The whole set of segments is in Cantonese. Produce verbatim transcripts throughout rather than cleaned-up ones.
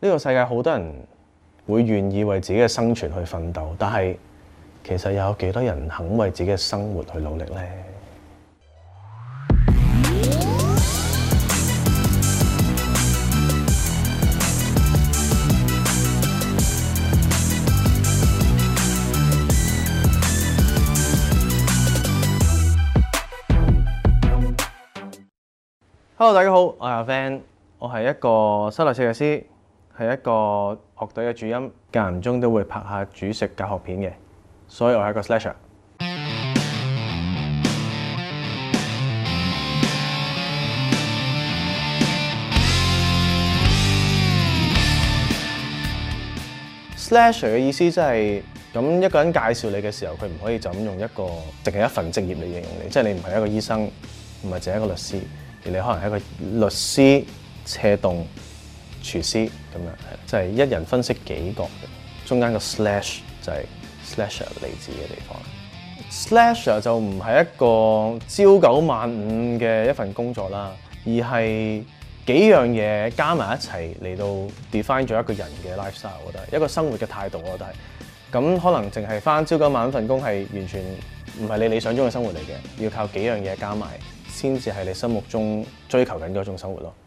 呢個世界好多人會願意為自己嘅生存去奮鬥，但係其實有幾多人肯為自己嘅生活去努力呢？Hello， 大家好，我係阿 Van， 我係一個室內設計師，係一個樂隊嘅主音，間唔中都會拍下煮食教學片嘅，所以我係一個 slasher。slasher 嘅意思即係咁一個人介紹你嘅時候，佢唔可以就咁用一個淨係一份職業嚟形容你，即係你唔係一個醫生，唔係淨係一個律師。而你可能係一個律師、車動、廚師咁樣，係即係一人分析幾角嘅，中間個 slash 就係 slasher 嚟自嘅地方。slasher 就唔係一個朝九晚五嘅一份工作啦，而係幾樣嘢加埋一齊嚟到 define 咗一個人嘅 lifestyle。我覺得一個生活嘅態度，我覺得係咁可能淨係返朝九晚五份工係完全唔係你理想中嘅生活嚟嘅，要靠幾樣嘢加埋，先至係你心目中追求緊嗰種生活咯。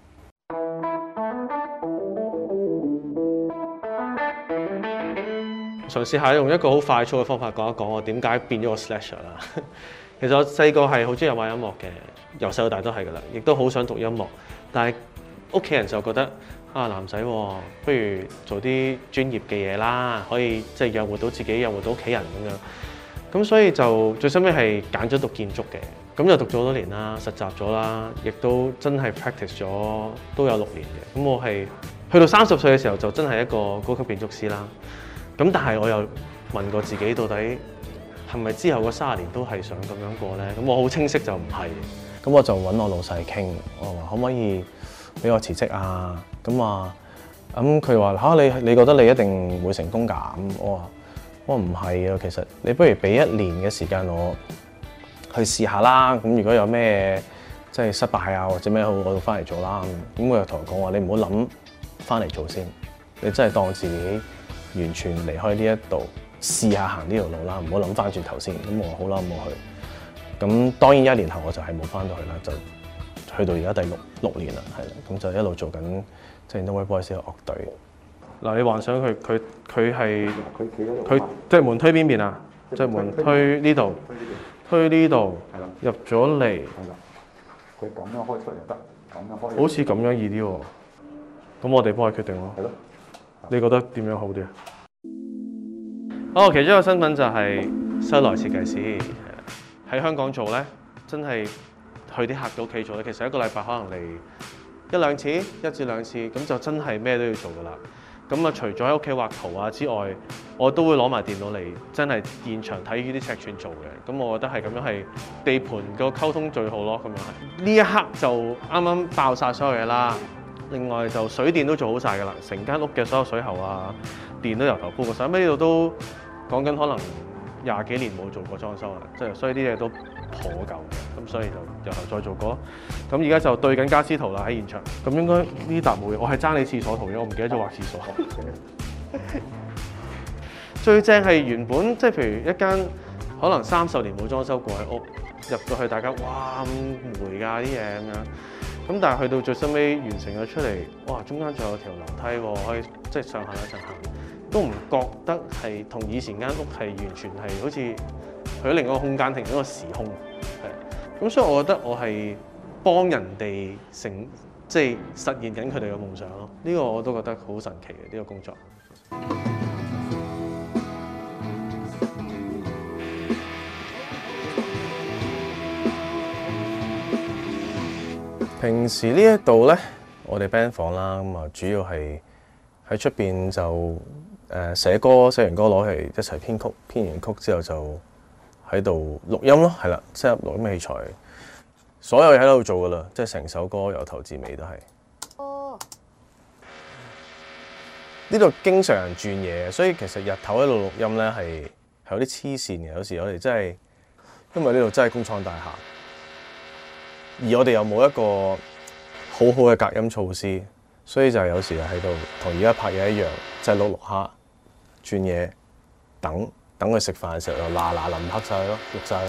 嘗試下用一個好快速嘅方法講一講我點解變咗個 slasher 啦。其實我細個係好中意玩音樂嘅，由細到大都係噶啦，亦都好想讀音樂，但係屋企人就覺得啊，男仔不如做啲專業嘅嘢啦，可以即係養活到自己，養活到屋企人咁樣。咁所以就最收尾係揀咗讀建築嘅。咁就讀咗好多年啦，實習咗啦，亦都真係 practice 咗都有六年嘅。咁我係去到三十歲嘅時候就真係一個高級建築師啦。咁但係我又問過自己，到底係咪之後嗰三十年都係想咁樣過咧？咁我好清晰就唔係。咁我就揾我老細傾，我話可唔可以俾我辭職啊？咁話咁佢話嚇你你覺得你一定會成功㗎？咁我話我唔係啊，其實你不如俾一年嘅時間我去試下啦，咁如果有咩即係失敗啊或者咩好，我就翻嚟做啦。咁佢又同我講話，你唔好諗翻嚟做先，你真係當自己完全離開呢一度，試下行呢條路啦，唔好諗翻轉頭先。咁我好啦，咁我去。咁當然一年後我就係冇翻到去啦，就去到而家第六六年啦，係啦，咁就一路做緊即係 Nowhere Boys 嘅樂隊。嗱，你幻想佢佢佢係佢即係門推邊邊啊？即係門推呢度。推呢度，入咗嚟， 佢咁樣開出嚟就得，咁樣開。 好似咁樣易啲喎。咁我哋幫佢決定咯。係咯。你覺得點樣好啲啊？哦，其中一個身份就係室內設計師。喺香港做咧，真係去啲客嘅屋企做咧。其實一個禮拜可能嚟一兩次，一至兩次，咁就真係咩都要做噶啦。咁啊，除咗喺屋企畫圖啊之外，我都會攞埋電腦嚟，真係現場睇呢啲尺寸做嘅。咁我覺得係咁樣係地盤個溝通最好咯。咁樣係呢一刻就啱啱爆晒所有嘢啦。另外就水電都做好晒㗎啦，成間屋嘅所有水喉啊、電都由頭鋪過晒。咁呢度都講緊可能廿幾年冇做過裝修啦，即係所以啲嘢都頗舊嘅。咁所以就由頭再做過。咁而家就對緊家私圖啦喺現場。咁應該呢笪冇嘢，我係爭你廁所圖嘅，我唔記得咗畫廁所。最正係原本即係譬如一間可能三十年冇裝修過嘅屋，入到去大家哇咁霉㗎啲嘢咁樣。咁但係去到最收尾完成咗出嚟，哇中間仲有條樓梯喎，可以即係上下一層行，都唔覺得係同以前間屋係完全係好似去咗另一個空間，停咗個時空。係咁，所以我覺得我係幫人哋成即係實現緊佢哋嘅夢想咯。呢個我都覺得好神奇嘅呢個工作。平時呢一度咧，我哋 band 房啦，咁啊主要係喺出邊就誒寫歌，寫完歌攞嚟一齊編曲，編完曲之後就喺度錄音咯，係啦，set up錄音器材，所有嘢喺度做噶啦，即係成首歌由頭至尾都係。哦。呢度經常人轉嘢，所以其實日頭喺度錄音咧係係有啲黐線嘅，有時我哋真係因為呢度真係工廠大廈。而我哋又冇一個好好嘅隔音措施， 所以就有時喺度同而家拍嘢一樣，就係碌碌下轉嘢，等等佢食飯嘅時候又嗱嗱臨拍晒佢咯，錄晒佢。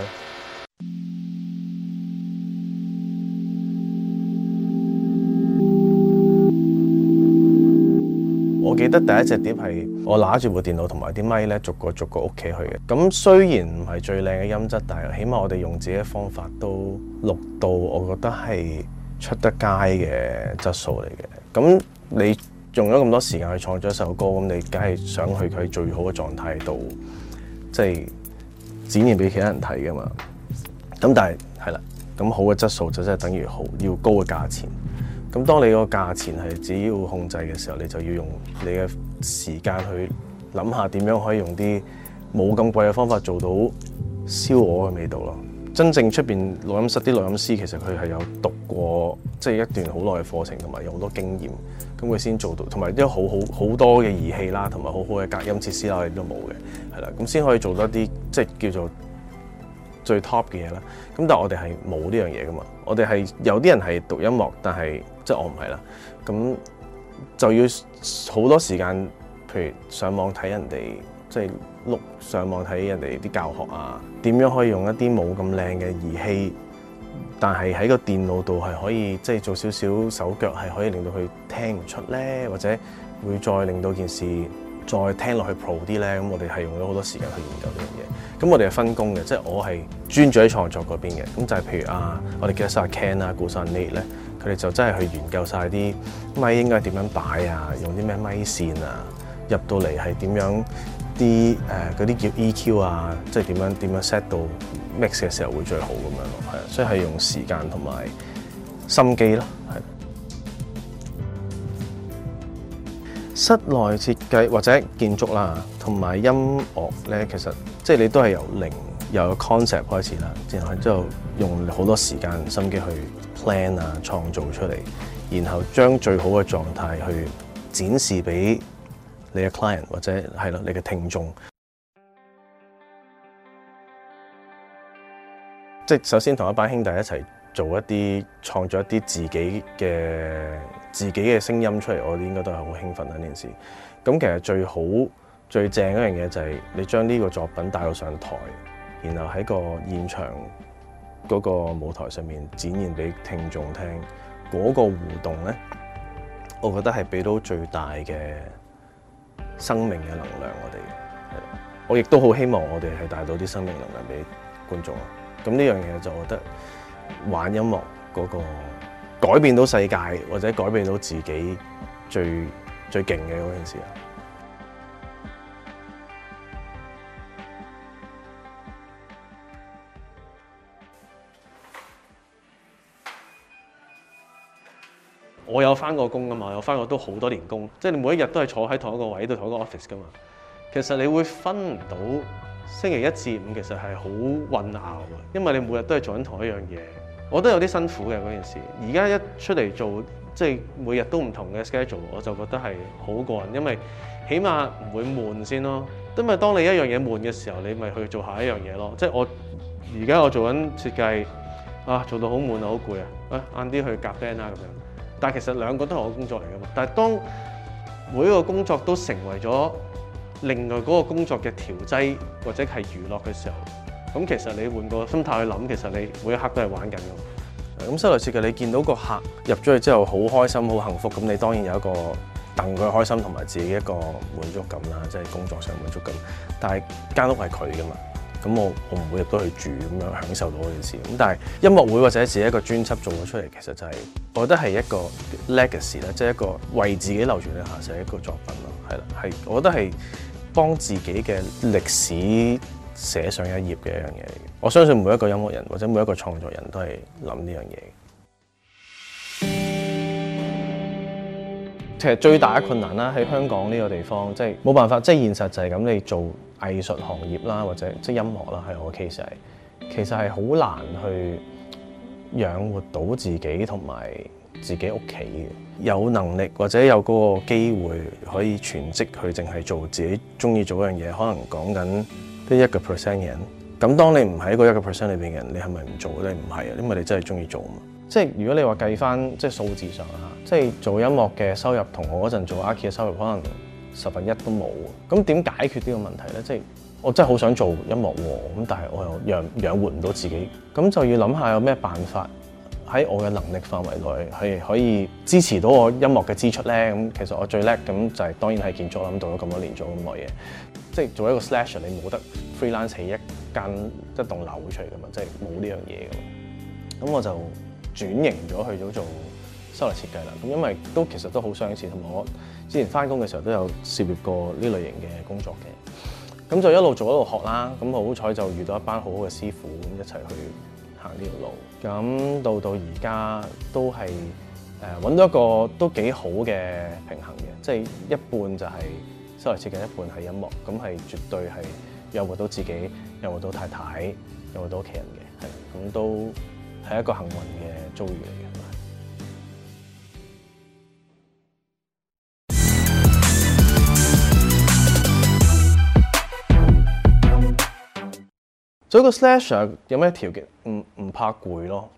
我記得第一隻碟係我拿住部電腦同埋啲咪咧，逐個逐個屋企去嘅。咁雖然唔係最靚嘅音質，但係起碼我哋用自己嘅方法都錄到，我覺得係出得街嘅質素嚟嘅。咁你用咗咁多時間去創作一首歌，咁你梗係想去佢最好嘅狀態度，即係展現俾其他人睇㗎嘛。咁但係係啦，咁好嘅質素就真係等於好要高嘅價錢。咁當你個價錢係自己要控制嘅時候，你就要用你嘅時間去諗下點樣可以用啲冇咁貴嘅方法做到燒鵝嘅味道咯。真正出邊錄音室啲錄音師其實佢係有讀過即係一段好耐嘅課程，同埋有好多經驗，咁佢先做到，同埋啲好好好多嘅儀器啦，同埋好好嘅隔音設施啦，我哋都冇嘅，係啦，咁先可以做到一啲即係叫做最 top 嘅嘢啦。咁但係我哋係冇呢樣嘢噶嘛，我哋係有啲人係讀音樂，但係即係我唔係啦。咁就要好多時間，譬如上網睇人哋，即係碌上網睇人哋啲教學啊，點樣可以用一啲冇咁靚嘅儀器，但係喺個電腦度係可以即係做少少手腳，係可以令到佢聽唔出咧，或者會再令到件事再聽落去 pro 啲咧。咁我哋係用咗好多時間去研究呢樣嘢。咁我哋係分工嘅，即係我係專注喺創作嗰邊嘅。咁就係譬如啊，我哋記得晒 Ken 啊、顧生 Nate 咧，佢哋就真係去研究晒啲咪應該點樣擺啊，用啲咩咪線啊，入到嚟係點樣啲誒嗰啲叫 E Q 啊，即係點樣點樣 set 到 mix 嘅時候會最好咁樣咯，係啊，所以係用時間同埋心機咯，係。室內設計或者建築啦，同埋音樂咧，其實即係你都係由零由個 concept 開始啦，然後之後用好多時間心機去 plan 啊，創造出嚟，然後將最好嘅狀態去展示俾你嘅 client 或者係咯你嘅聽眾。即係首先同一班兄弟一齊做一啲創作一啲自己嘅自己嘅聲音出嚟，我哋應該都係好興奮呢件事。咁其實最好最正嗰樣嘢就係你將呢個作品帶到上台，然後喺個現場嗰個舞台上面展現俾聽眾聽，嗰個互動咧，我覺得係俾到最大嘅生命嘅能量我哋。係，我亦都好希望我哋係帶到啲生命能量俾觀眾。咁呢樣嘢就我覺得玩音樂嗰個改變到世界或者改變到自己最最勁嘅嗰件事。 我有返過工㗎嘛，我有返過都好多年工，即係你每一日都係坐喺同一個位度同一個 office 㗎嘛。其實你會分唔到星期一至五其實係好混淆嘅，因為你每日都係做緊同一樣嘢。我都有啲辛苦嘅嗰件事。而家一出嚟做，即係每日都唔同嘅 schedule，我就覺得係好過癮，因為起碼唔會悶先咯。因為當你一樣嘢悶嘅時候，你咪去做下一樣嘢咯。即係我而家我做緊設計，啊做到好悶啊，好攰啊，啊晏啲去夾 band 啦咁樣。但係其實兩個都係我工作嚟㗎嘛。但係當每一個工作都成為咗另外嗰個工作嘅調劑或者係娛樂嘅時候，咁其實你換個心態去諗，其實你每一刻都係玩緊㗎。 咁室內設計你見到個客入咗去之後好開心好幸福，咁你當然有一個戥佢開心同埋自己一個滿足感啦，即係工作上滿足感。但係間屋係佢㗎嘛，咁我我唔會入到去住咁樣享受到嗰件事。咁但係音樂會或者自己一個專輯做咗出嚟，其實就係、是、我覺得係一個 legacy 啦，即係一個為自己流傳嘅下世一個作品咯。係啦，係我覺得係幫自己嘅歷史寫上一頁嘅一樣嘢嚟嘅。我相信每一個音樂人或者每一個創作人都係諗呢樣嘢。其實最大嘅困難啦，喺香港呢個地方，即係冇辦法，即係現實就係咁。你做藝術行業啦，或者即係音樂啦，係我 case 係，其實係好難去養活到自己同埋自己屋企嘅。有能力或者有嗰個機會可以全職去淨係做自己中意做嗰樣嘢，可能講緊啲一個 percent 嘅人。咁當你唔喺嗰一個 percent 裏邊嘅人，你係咪唔做咧？唔係啊，因為你真係中意做啊嘛。 即係如果你話計翻即係數字上啊，即係做音樂嘅收入同我嗰陣做 Archi 嘅收入可能十分一都冇。咁點解決呢個問題咧？即係我真係好想做音樂喎，咁但係我又養養活唔到自己，咁就要諗下有咩辦法喺我嘅能力範圍內係可以支持到我音樂嘅支出咧。咁其實我最叻咁就係當然係建築啦，咁做咗咁多年做咁耐嘢，即係做一個 slasher 你冇得 freelance 起一間一棟樓出嚟㗎嘛，即係冇呢樣嘢㗎嘛。咁我就轉型咗去咗做室內設計啦。咁因為都其實都好相似，同埋我之前翻工嘅時候都有涉獵過呢類型嘅工作嘅。咁就一路做一路學啦。咁好彩就遇到一班好好嘅師傅，咁一齊去行呢條路。咁到到而家都係誒揾到一個都幾好嘅平衡嘅，即係一半就係室內設計，一半係音樂。咁係絕對係養活到自己，養活到太太，養活到屋企人嘅。係咁都係一個幸運嘅遭遇嚟嘅。做一個 slasher 有咩條件？唔唔怕攰咯。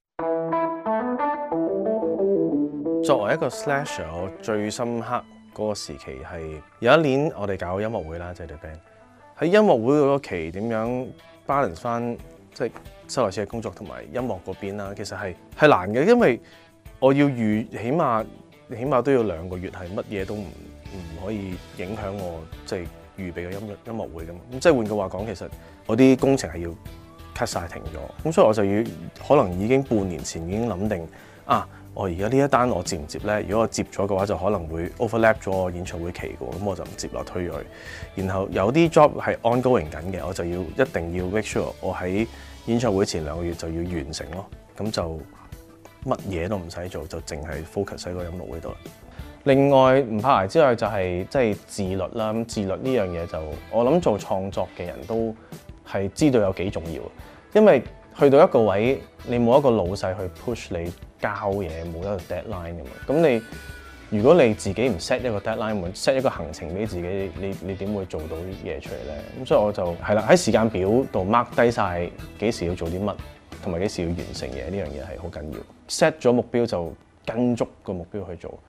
作為一個 slasher，我最深刻嗰個時期係有一年我哋搞音樂會啦，即係隊 band 喺音樂會嗰個期點樣 balance 翻即係室內設計工作同埋音樂嗰邊啦。其實係係難嘅，因為我要預起碼起碼都要兩個月係乜嘢都唔唔可以影響我即係預備嘅音樂音樂會㗎嘛。咁即係換句話講，其實我啲工程係要 cut 晒停咗，咁所以我就要可能已經半年前已經諗定啊，我而家呢一單我接唔接咧？如果我接咗嘅話，就可能會 overlap 咗我演唱會期嘅，咁我就唔接落推咗去。然後有啲 job 係 ongoing 緊嘅，我就要一定要 make sure 我喺演唱會前兩個月就要完成咯。咁就乜嘢都唔使做，就淨係 focus 喺個音樂會度啦。另外唔怕捱之外就係即係自律啦。咁自律呢樣嘢就我諗做創作嘅人都係知道有幾重要，因為去到一個位，你冇一個老細去 push 你交嘢，冇一個 deadline 㗎嘛。咁你如果你自己唔 set 一個 deadline， set 一個行程俾自己，你你點會做到啲嘢出嚟咧？咁所以我就係啦，喺時間表度 mark 低晒幾時要做啲乜，同埋幾時要完成嘢，呢樣嘢係好緊要。set 咗目標就跟足個目標去做。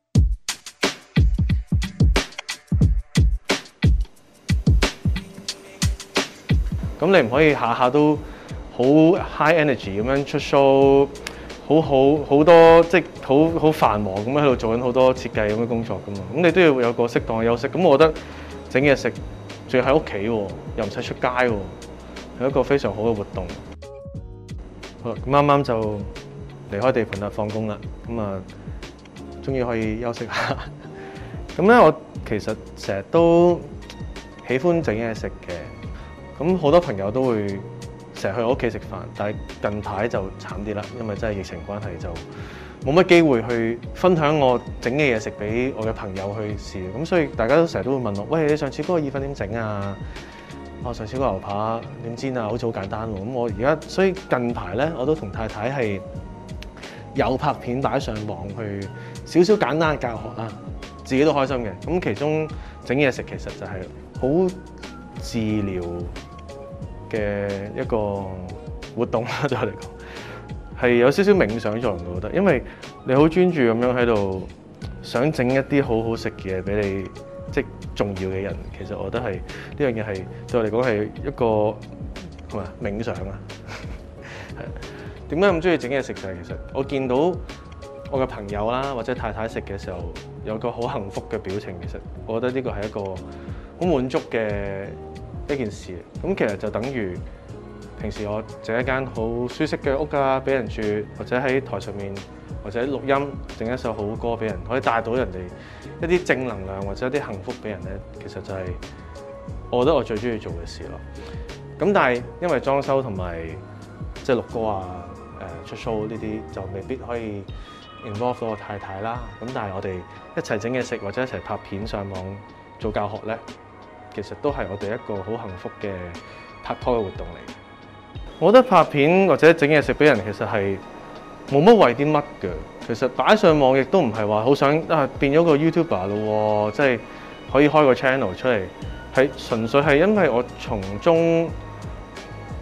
咁你唔可以下下都好 high energy 咁樣出 show， 好好好多即係好好繁忙咁樣喺度做緊好多設計咁嘅工作噶嘛。咁你都要有個適當嘅休息。咁我覺得整嘢食，仲要喺屋企喎，又唔使出街喎，係一個非常好嘅活動。好啦，咁啱啱就離開地盤啦，放工啦，咁啊，終於可以休息下。咁咧，我其實成日都喜歡整嘢食嘅。咁好多朋友都會成日去我屋企食飯，但係近排就慘啲啦，因為真係疫情關係就冇乜機會去分享我整嘅嘢食俾我嘅朋友去試。咁所以大家都成日都會問我：喂，你上次嗰個意粉點整啊？我上次嗰個牛扒點煎啊？好似好簡單喎。咁我而家所以近排咧，我都同太太係有拍片擺上網去少少簡單嘅教學啦，自己都開心嘅。咁其中整嘢食其實就係好治療嘅一個活動啦，對我嚟講係有少少冥想作用，我覺得，因為你好專注咁樣喺度想整一啲好好食嘅嘢俾你，即係重要嘅人。其實我覺得係呢樣嘢係對我嚟講係一個係咪冥想啊？係點解咁中意整嘢食就係其實我見到我嘅朋友啦或者太太食嘅時候有個好幸福嘅表情，其實我覺得呢個係一個好滿足嘅一件事。咁其實就等於平時我整一間好舒適嘅屋啊，俾人住，或者喺台上面或者錄音整一首好歌俾人，可以帶到人哋一啲正能量或者一啲幸福俾人咧。其實就係我覺得我最中意做嘅事咯。咁但係因為裝修同埋即係錄歌啊、誒出 show 呢啲就未必可以 involve 到我太太啦。咁但係我哋一齊整嘢食或者一齊拍片上網做教學咧，其實都係我哋一個好幸福嘅拍拖嘅活動嚟。我覺得拍片或者整嘢食俾人其實係冇乜為啲乜嘅。其實擺上網亦都唔係話好想啊變咗個 YouTuber 咯，即係可以開個 channel 出嚟，係純粹係因為我從中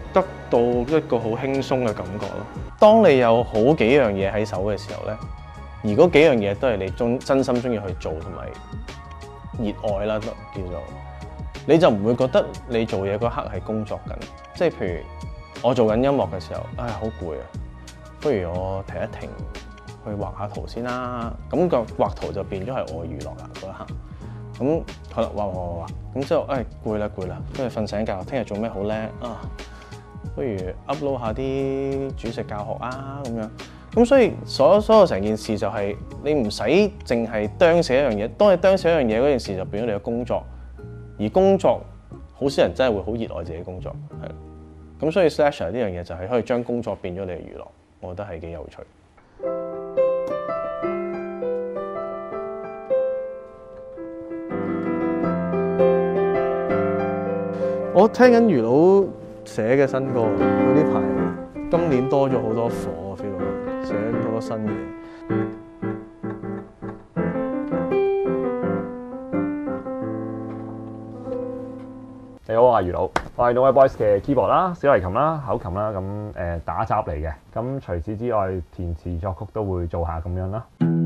得到一個好輕鬆嘅感覺咯。 當你有好幾樣嘢喺手嘅時候咧，而嗰幾樣嘢都係你中真心中意去做同埋熱愛啦，叫做你就唔會覺得你做嘢嗰刻係工作緊。即係譬如我做緊音樂嘅時候，唉好攰啊，不如我停一停去畫下圖先啦。咁個畫圖就變咗係我娛樂啦嗰一刻。咁好啦，畫畫畫畫，咁之後唉攰啦攰啦，跟住瞓醒覺，聽日做咩好叻啊？不如 upload 下啲煮食教學啊咁樣。咁所以所有所有成件事就係你唔使淨係釘死一樣嘢，當你釘死一樣嘢嗰件事就變咗你嘅工作，而工作好少人真係會好熱愛自己工作，係。咁所以 Slasher 呢樣嘢就係可以將工作變咗你嘅娛樂，我覺得係幾有趣。 我聽緊魚佬寫嘅新歌，佢呢排今年多咗好多火 feel 到，寫好多新嘢。 你好，我係魚佬，我係 No Way Boys 嘅 keyboard 啦、小提琴啦、口琴啦，咁誒、呃、打雜嚟嘅。咁除此之外，填詞作曲都會做下咁樣啦。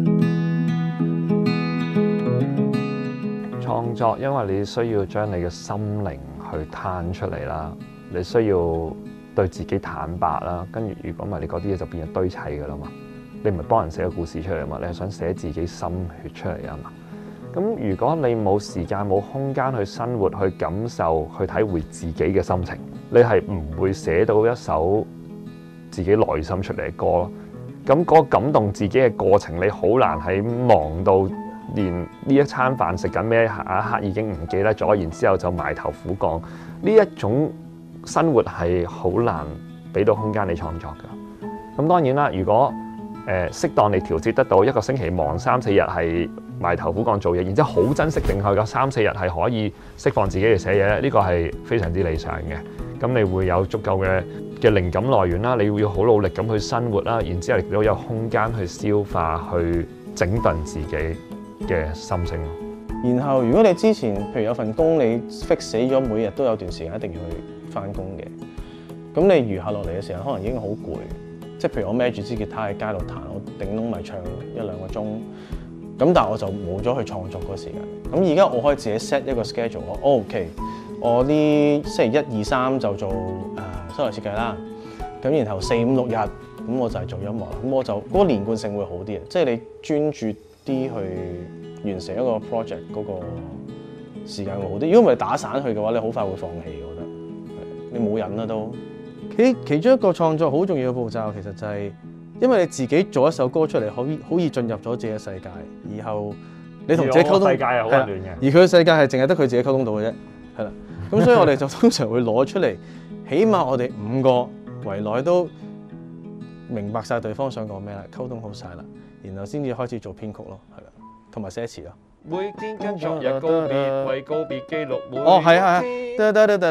創作因為你需要將你嘅心靈去攤出嚟啦，你需要對自己坦白啦，跟住如果唔係你嗰啲嘢就變咗堆砌㗎啦嘛。你唔係幫人寫個故事出嚟啊嘛，你係想寫自己心血出嚟啊嘛。咁如果你冇時間冇空間去生活、去感受、去體會自己嘅心情，你係唔會寫到一首自己內心出嚟嘅歌咯。咁嗰個感動自己嘅過程，你好難喺忙到連呢一餐飯食緊咩下一刻已經唔記得咗，然之後就埋頭苦幹。呢一種生活係好難俾到空間你創作㗎。咁當然啦，如果誒、呃、適當你調節得到，一個星期忙三四日係埋頭苦幹做嘢，然之後好珍惜定佢嘅三四日係可以釋放自己嚟寫嘢咧，呢個係非常之理想嘅。咁你會有足夠嘅嘅靈感來源啦，你要好努力咁去生活啦，然之後亦都有空間去消化、去整頓自己嘅心聲。 然後如果你之前譬如有份工你 fix 死咗，每日都有段時間一定要去翻工嘅，咁你餘下落嚟嘅時間可能已經好攰。即係譬如我孭住支吉他喺街度彈，我頂籠咪唱一兩個鐘，咁但係我就冇咗去創作嗰個時間。咁而家我可以自己 set 一個 schedule，我 OK，我呢星期一二三就做誒室內設計啦，咁然後四五六日咁我就係做音樂啦。咁我就嗰、嗰個連貫性會好啲嘅，即係你專注啲去完成一個 project 嗰個時間會好啲。如果唔係打散去嘅話，你好快會放棄，我覺得你冇癮啦都。 其其中一個創作好重要嘅步驟，其實就係因為你自己做一首歌出嚟，好好易進入咗自己嘅世界，然後你同自己溝通， 世界係好混亂嘅。 而佢嘅世界係淨係得佢自己溝通到嘅啫，係啦。咁所以我哋就通常會攞出嚟，起碼我哋五個圍內都明白晒對方想講咩啦，溝通好晒啦，然後先至開始做編曲咯，係啦，同埋寫詞咯。 每天跟昨日告別，為告別記錄每哦，係啊，係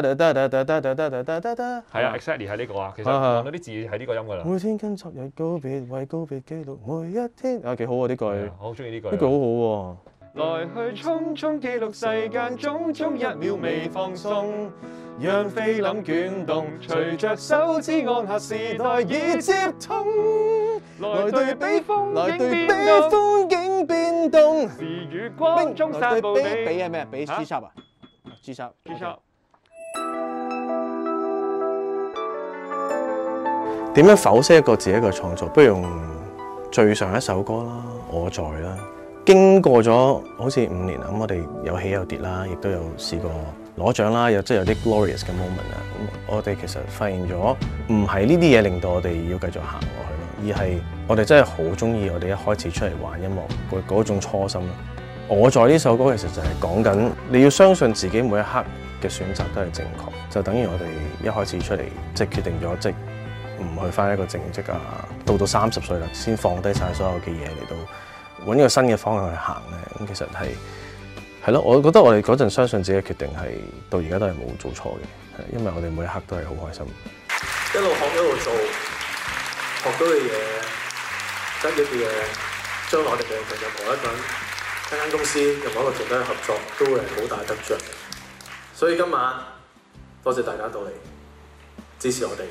啊，係啊 ，exactly 係呢個啊。其實望到啲字係呢個音㗎啦。 每天跟昨日告別，為告別記錄每一天。啊，幾好喎呢句， 我好中意呢句。 呢句好好喎。 來去匆匆記錄世間種種一秒未放鬆，讓菲林捲動，隨着手指按下時代已接通。來對比風來對比景風景變動， 是月光中散步比你。 比係咩啊？比 G 插啊？G 插 G 插。 點樣剖析一個自己一個創作？不如用最上一首歌啦，我在啦。經過咗好似五年啦，咁我哋有起有跌啦，亦都有試過攞獎啦，有即係有啲 glorious 嘅 moment 啦。咁我哋其實發現咗，唔係呢啲嘢令到我哋要繼續行落去咯，而係我哋真係好中意我哋一開始出嚟玩音樂嗰嗰種初心咯。我在呢首歌其實就係講緊你要相信自己每一刻嘅選擇都係正確，就等於我哋一開始出嚟即係決定咗即係唔去返一個正職啊，到到三十歲啦先放低晒所有嘅嘢嚟到揾一個新嘅方向去行咧。咁其實係係咯，我覺得我哋嗰陣相信自己嘅決定係到而家都係冇做錯嘅，因為我哋每一刻都係好開心。 一路學一路做，學到嘅嘢，得益嘅嘢，將來我哋嘅任何一個人、一間公司、任何一個團隊嘅合作，都會係好大得着。所以今晚多謝大家到嚟支持我哋。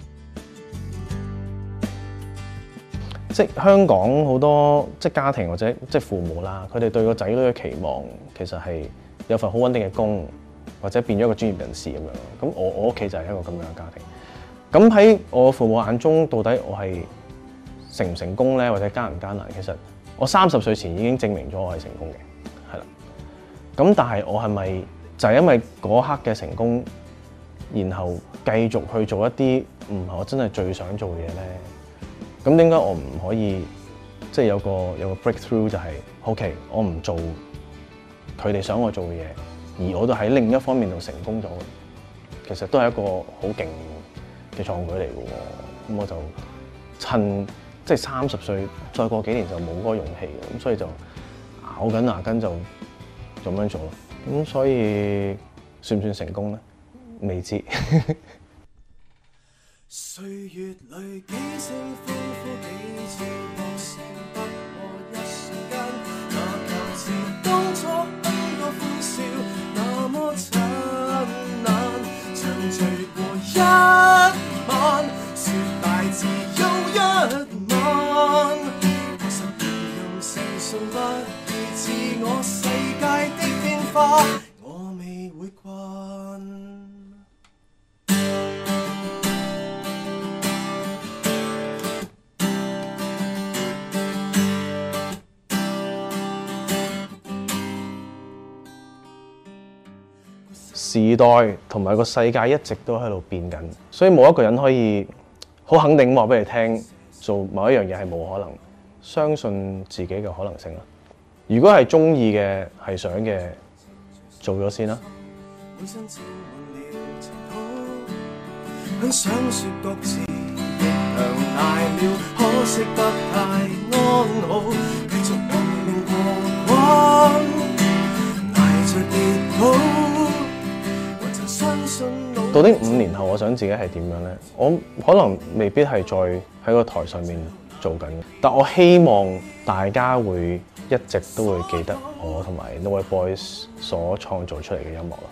即係香港好多即係家庭或者即係父母啦，佢哋對個仔女嘅期望其實係有份好穩定嘅工，或者變咗一個專業人士咁樣。咁我我屋企就係一個咁樣嘅家庭。咁喺我父母眼中，到底我係成唔成功咧，或者艱唔艱難？其實我三十歲前已經證明咗我係成功嘅，係啦。咁但係我係咪就係因為嗰刻嘅成功，然後繼續去做一啲唔係我真係最想做嘅嘢咧？咁點解我唔可以即係有個有個 breakthrough 就係 OK， 我唔做佢哋想我做嘅嘢，而我都喺另一方面度成功咗，其實都係一個好勁嘅創舉嚟嘅喎。咁我就趁即係三十歲，再過幾年就冇嗰個勇氣嘅，咁所以就咬緊牙根就咁樣做咯。咁所以算唔算成功咧？未知。歲月裏幾聲歡呼，幾次樂聲，不過一瞬間。那舊時當初很多歡笑，那麼燦爛，像醉過一晚，說大自有一晚。確實形容成熟不如自我世界的變化，我未會慣。時代同埋個世界一直都喺度變緊，所以冇一個人可以好肯定話俾你聽，做某一樣嘢係冇可能。相信自己嘅可能性啦。如果係中意嘅，係想嘅，做咗先啦。到底五年後我想自己係點樣呢？我可能未必係再喺個台上面做緊，但我希望大家會一直都會記得我同埋 Nowhere Boys 所創造出嚟嘅音樂咯。